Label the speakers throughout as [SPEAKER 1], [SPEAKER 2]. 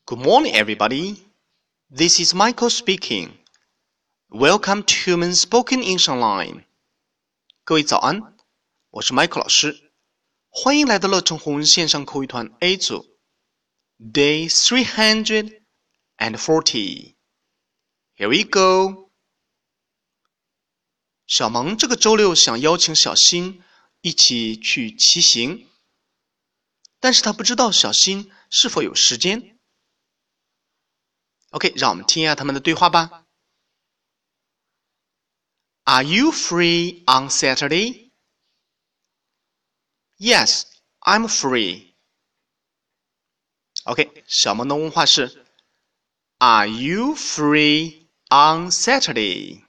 [SPEAKER 1] Good morning, everybody. This is Michael speaking. Welcome to Human Spoken English Online. 各位早安，我是 Michael 老师，欢迎来到乐成红线上口语团 A 组 Day 340. Here we go. 小萌这个周六想邀请小新一起去骑行，但是他不知道小新是否有时间。OK， 让我们听一下他们的对话吧。Are you free on Saturday? Yes, I'm free. OK， 小萌的问话是 Are you free on Saturday?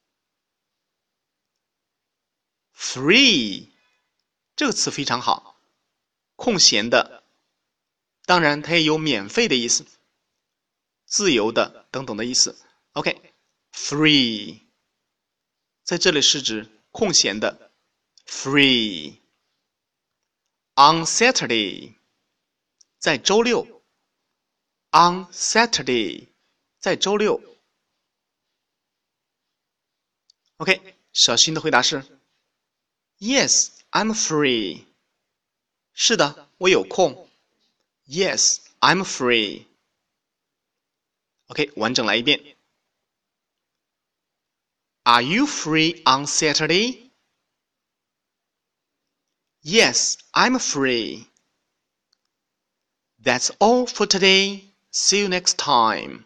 [SPEAKER 1] Free 这个词非常好，空闲的，当然它也有免费的意思，自由的等等的意思。OK， free 在这里是指空闲的 free。 On Saturday 在周六 On Saturday 在周六。 OK， 小新的回答是 Yes, I'm free. 是的，我有空。 Yes, I'm free. OK， 完整来一遍。Are you free on Saturday? Yes, I'm free. That's all for today. See you next time.